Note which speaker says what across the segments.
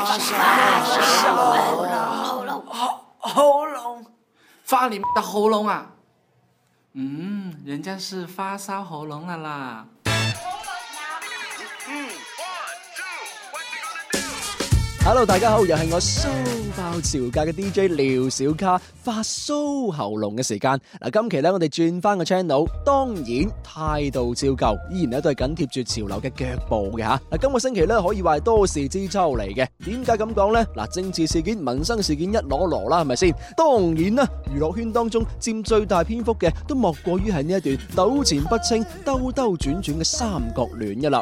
Speaker 1: 喉咙，发你的喉咙啊！人家是发烧喉咙了啦。
Speaker 2: Hello， 大家好，又係我騷爆潮界嘅 DJ 廖小卡發騷喉嚨嘅時間。今期咧我哋轉翻個 channel， 當然態度照舊，依然咧都係緊貼住潮流嘅腳步嘅吓。今個星期咧可以話係多事之秋嚟嘅。點解咁講呢？政治事件、民生事件一籮籮啦，係咪先？當然啦，娛樂圈當中佔最大篇幅嘅，都莫過於係呢一段糾纏不清、兜兜轉轉嘅三角戀嘅啦。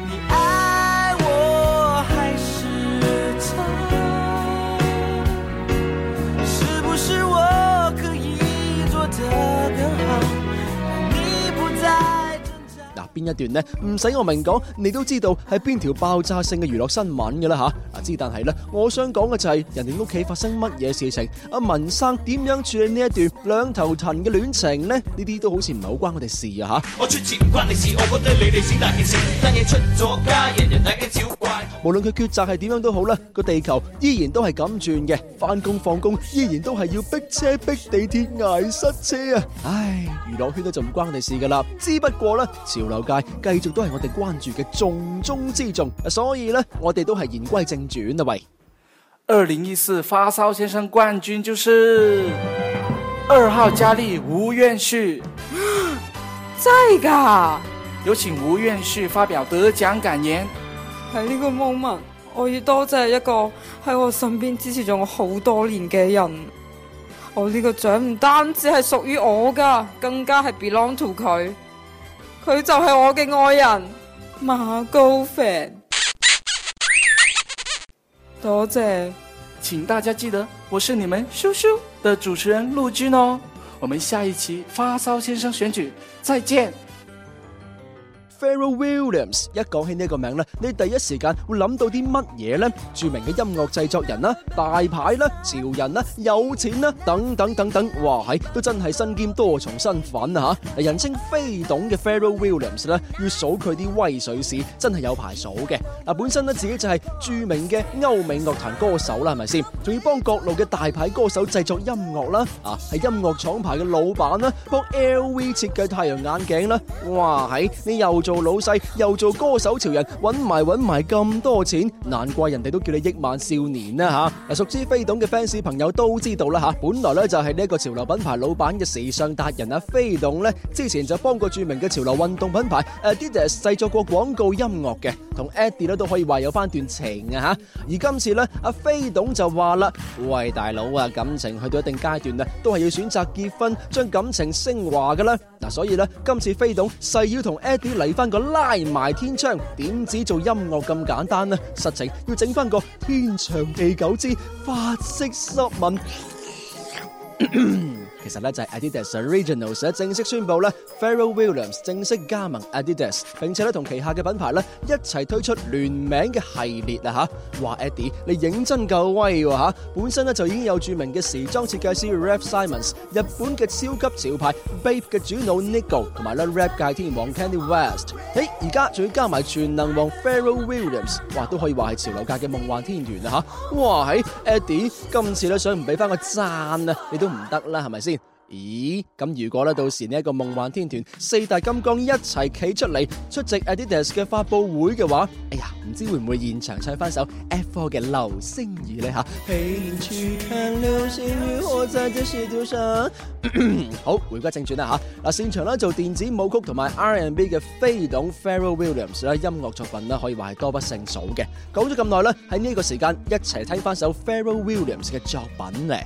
Speaker 2: 邊一段呢？唔使我明講，你都知道係邊條爆炸性嘅娛樂新聞嘅啦吓。之但係呢，我想講嘅就係人哋屋企發生乜嘢事情，阿文生點樣處理呢一段兩頭騰嘅戀情呢？呢啲都好似唔係好關我哋事啊吓。我出錢唔關你事，我覺得你哋先大件事，單嘢出咗街，人人大驚小怪。無論佢抉擇係點樣都好啦，個地球依然都係咁轉嘅，翻工放工依然都係要逼車逼地鐵捱塞車啊！唉，娛樂圈都就唔關我哋事噶啦，只不過呢，潮流界繼續都係我哋關注嘅重中之重，所以呢，我哋都係言歸正傳啦喂。
Speaker 1: 2014發燒先生冠軍就是2號佳麗吳苑旭。
Speaker 3: 真㗎？
Speaker 1: 有請吳苑旭發表得獎感言。
Speaker 3: 喺呢個 moment， 我要多謝一個喺我身邊支持咗我好多年嘅人。我呢個獎唔單止係屬於我㗎，更加係 belong to 佢。佢就係我嘅愛人馬高凡。多謝。
Speaker 1: 請大家記得，我是你們羞羞的主持人陸軍哦。我們下一期發燒先生選舉再見。
Speaker 2: Pharrell Williams 一講起呢個名咧，你第一時間會諗到啲乜嘢呢？著名嘅音樂製作人啦、大牌啦、潮人啦、有錢啦，等等等等，哇係都真係身兼多重身份啊吓！人稱飛董嘅 Pharrell Williams 咧，要數佢啲威水史，真係有排數嘅。本身咧自己就係著名嘅歐美樂壇歌手啦，係咪先？仲要幫各路嘅大牌歌手製作音樂啦，係音樂廠牌嘅老闆啦，幫 LV 設計太陽眼鏡啦，哇係你又做老細又做歌手潮人，揾埋咁多錢，難怪人哋都叫你億萬少年啦吓！熟知飛董嘅 fans 朋友都知道啦吓，本來咧就係呢一個潮流品牌老闆嘅時尚達人飛董咧，之前就幫過著名嘅潮流運動品牌 Adidas 製作過廣告音樂嘅，同 Eddie 咧都可以話有翻段情啊吓！而今次咧，阿飛董就話啦：喂大佬啊，感情去到一定階段啊，都係要選擇結婚，將感情升華噶啦！所以咧，今次飛董誓要同 Eddie 嚟翻個拉埋天窗，點止做音樂咁簡單呢？實情要整翻個天長地久之法式濕吻。其實咧就係 Adidas Originals 正式宣布咧 Pharrell Williams 正式加盟 Adidas， 並且咧同旗下嘅品牌咧一齊推出聯名嘅系列啦吓。話 Eddie 你認真夠威喎吓，本身咧就已經有著名嘅時裝設計師 Raf Simons， 日本嘅超級潮牌 Bape 嘅主腦 Nigo， 同埋咧 rap 界天王 Kanye West， 而家仲要加埋全能王 Pharrell Williams， 哇都可以話係潮流界嘅夢幻天團啦吓。哇喺 Eddie 今次咧想唔俾翻個讚啊，你都唔得啦，係咪先？咦，咁如果咧到時呢一個夢幻天團四大金剛一齊企出嚟出席 Adidas 嘅發佈會嘅話，哎呀，唔知會唔會現場唱翻首 F4 嘅流星雨呢吓？陪你去看流星雨，我在這世界上。好，回歸正傳啦吓，現場咧做電子舞曲同埋 R&B 嘅飛董 Pharrell Williams 咧音樂作品咧可以話係多不勝數嘅。講咗咁耐咧，喺呢個時間一齊聽翻首 Pharrell Williams 嘅作品咧。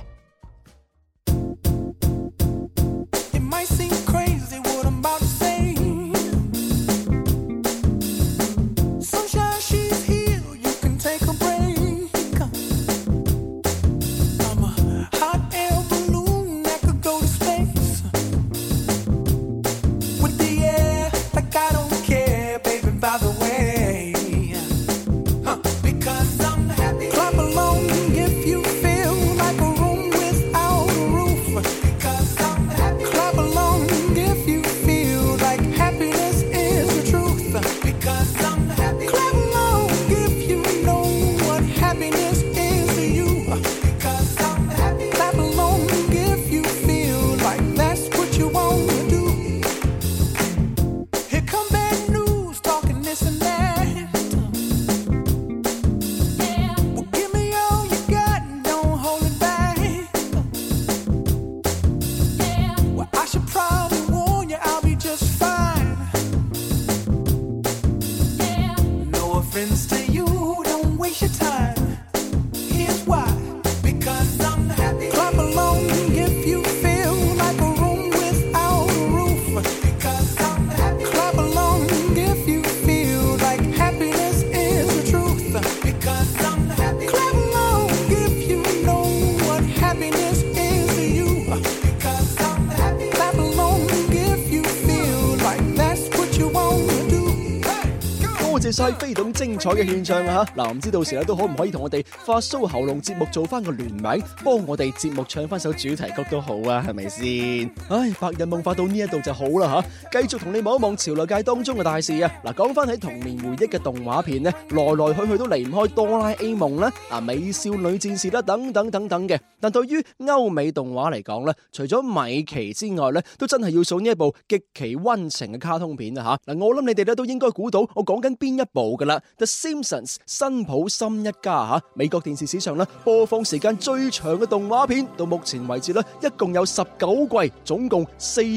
Speaker 4: every time. Here's why. Because I'm happy. Clap along if you feel like a room without a roof. Because I'm happy. Clap along if you feel like happiness is the truth. Because I'm happy. Clap along if you know what happiness is to you. Because I'm happy. Clap along if you feel like that's what you want to do.
Speaker 2: 多謝晒飛董精彩嘅獻唱啊！嗱，唔知到時咧都可唔可以同我哋發騷喉嚨節目做翻個聯名，幫我哋節目唱翻首主題曲都好啊，係咪先？唉，白日夢發到呢一度就好啦吓，繼續同你望一望潮流界當中嘅大事啊！嗱，講翻喺童年回憶嘅動畫片呢，來來去去都離唔開哆啦 A 夢啦、美少女戰士啦等等等等嘅。但對於歐美動畫嚟講咧，除咗米奇之外咧，都真係要數呢一部極其溫情嘅卡通片啊吓！嗱，我諗你哋咧都應該估到我講緊邊一部噶啦，《The Simpsons》辛普森一家吓，美國電視史上咧播放時間最長嘅動畫片，到目前為止咧一共有19季，總共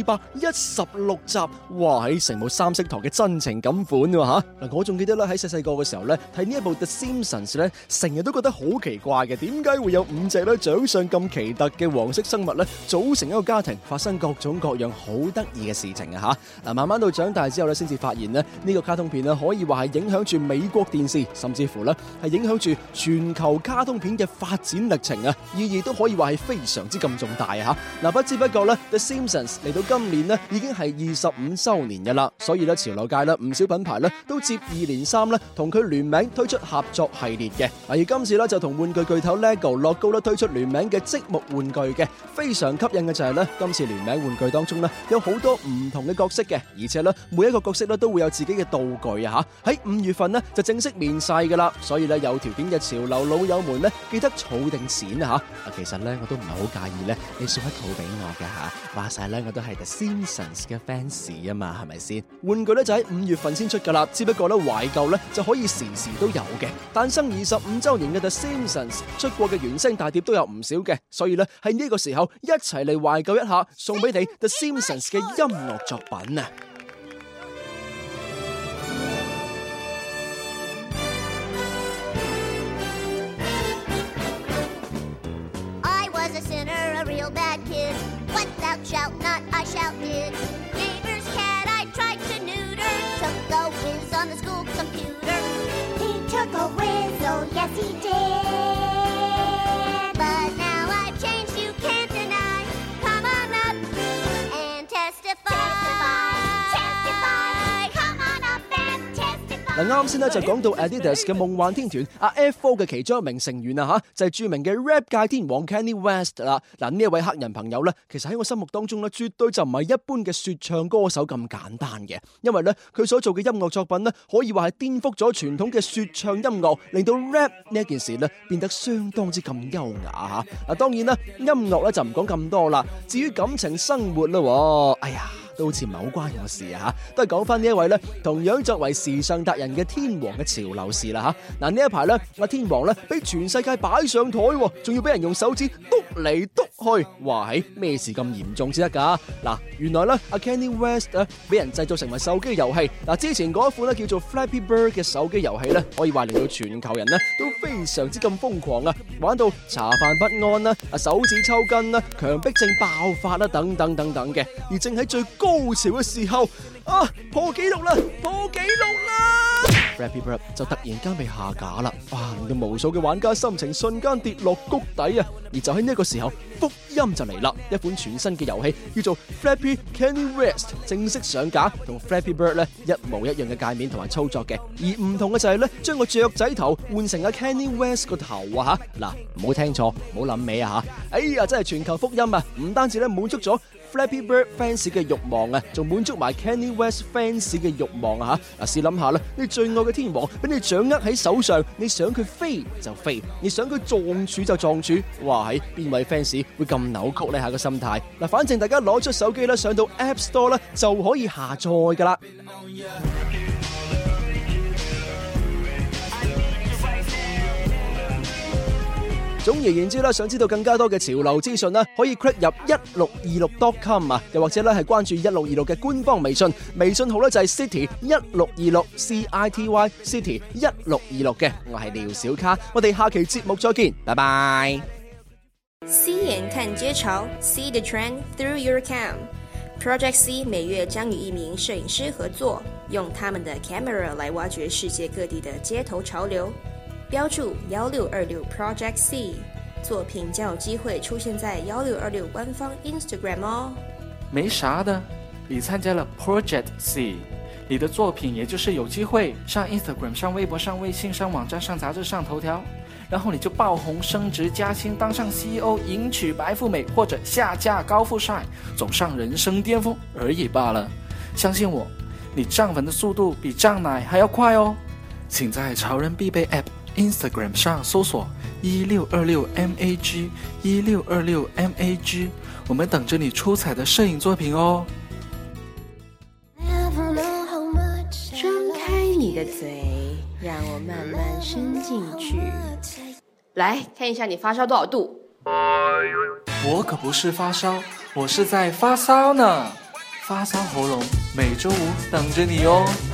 Speaker 2: 416集，哇！喺成部三色台嘅真情感款喎吓！嗱，我仲記得咧喺細細個嘅時候咧睇呢一部《The Simpsons》咧，成日都覺得好奇怪嘅，點解會有5隻咧長相咁奇特嘅黃色生物咧組成一個家庭，發生各種各樣好得意嘅事情啊吓！嗱，慢慢到長大之後咧，先至發現咧呢個卡通片咧可以話係影響住美國電視，甚至乎咧係影響住全球卡通片嘅發展歷程啊！意義都可以話係非常之咁重大啊！嗱，不知不覺咧，《The Simpsons》嚟到今年咧已經係25周年嘅啦，所以咧潮流界咧唔少品牌咧都接二連三咧同佢聯名推出合作系列嘅。而今次咧就同玩具巨頭 LEGO 樂高咧推出聯名嘅積木玩具嘅，非常吸引嘅就係咧今次聯名玩具當中咧有好多唔同嘅角色嘅，而且咧每一個角色咧都會有自己嘅道具啊吓！喺5月份咧就正式面世噶啦，所以咧有條件嘅潮流老友們咧記得儲定錢啊吓！其實咧我都唔係好介意咧你送一套俾我嘅吓，話晒咧我都係 The Simpsons 嘅 fans 啊嘛，係咪先？玩具咧就喺5月份先出噶啦，只不過咧懷舊咧就可以時時都有嘅。誕生25周年嘅 The Simpsons 出過嘅原聲大碟都有唔少嘅，所以咧喺呢個時候一齊嚟懷舊一下，送俾你 The Simpsons 嘅音樂作品啊！
Speaker 5: A real bad kid. What thou shalt not, I shouted. Neighbor's cat I tried to neuter. Took a whiz on the school computer. He took a whiz, oh yes he did. But now I've changed, you can't deny. Come on up and testify. Testify. Come on up and testify.
Speaker 2: 嗱，啱先咧就講到 Adidas 嘅夢幻天團阿 F4 嘅其中一名成員啊吓，就係著名嘅 rap 界天王 Kanye West 啦。嗱，呢一位黑人朋友咧，其實喺我心目當中咧，絕對就唔係一般嘅說唱歌手咁簡單嘅，因為咧佢所做嘅音樂作品咧，可以話係顛覆咗傳統嘅說唱音樂，令到 rap 呢一件事咧變得相當之咁優雅吓。嗱，當然啦，音樂咧就唔講咁多啦，至於感情生活啦，哎呀，都好似唔係好關我事啊吓，都係講翻呢一位咧，同樣作為時尚達人嘅天王嘅潮流事啦吓。嗱，呢一排咧，阿天王咧俾全世界擺上台，仲要俾人用手指篤嚟篤去，哇！係咩事咁嚴重先得噶？嗱，原來咧阿 Kanye West 啊俾人製作成為手機遊戲。嗱，之前嗰一款咧叫做 Flappy Bird 嘅手機遊戲咧，可以話令到全球人咧都非常之咁瘋狂啊，玩到茶飯不安啦，手指抽筋啦，強迫症爆發啦，等等等等嘅。而正喺最高潮嘅時候，破紀錄啦！破紀錄啦！ Flappy Bird 就突然間被下架啦，哇！令到無數嘅玩家心情瞬間跌落谷底啊！而就喺呢個時候，福音就嚟啦，一款全新嘅遊戲叫做 Flappy Kanye West 正式上架，同 Flappy Bird 咧一模一樣嘅界面同埋操作嘅，而唔同嘅就係咧將個雀仔頭換成阿 Kanye West 個頭啊吓！嗱，唔好聽錯，唔好諗歪啊吓！哎呀，真係全球福音啊！唔單止咧滿足咗Flappy Bird fans 嘅慾望啊，仲滿足埋 Kanye West fans 嘅慾望啊吓！嗱，試諗下啦，你最愛嘅天王俾你掌握喺手上，你想佢飛就飛，你想佢撞柱就撞柱，哇！喺邊位 fans 會咁扭曲呢？下個心態嗱，反正大家攞出手機啦，上到 App Store 啦就可以下載噶啦。 總而言之啦，想知道更加多嘅潮流資訊啦，可以 click 入1626.com 啊，又或者咧係關注1626嘅官方微信，微信號咧就係 City 1626 CITY City 1626嘅。我係廖小卡，我哋下期節目再見，拜拜。
Speaker 6: C 眼看街潮 ，See the trend through your cam。Project C 每月将与一名摄影师合作，用他们的 camera 来挖掘世界各地的街头潮流。标注1626 Project C， 作品将有机会出现在1626官方 Instagram 哦。
Speaker 1: 没啥的，你参加了 Project C， 你的作品也就是有机会上 Instagram、上微博、上微信、上网站、上杂志、上头条，然后你就爆红、升职加薪，当上 CEO， 迎娶白富美，或者下嫁高富帅，走上人生巅峰而已罢了。相信我，你涨粉的速度比涨奶还要快哦。请在潮人必备 App Instagram 上搜索1626MAG 1626MAG， 我们等着你出彩的摄影作品哦。
Speaker 6: 张开你的嘴，让我慢慢伸进去。来看一下你发烧多少度。
Speaker 1: 我可不是发烧，我是在发骚呢。发骚喉咙每周五等着你哦。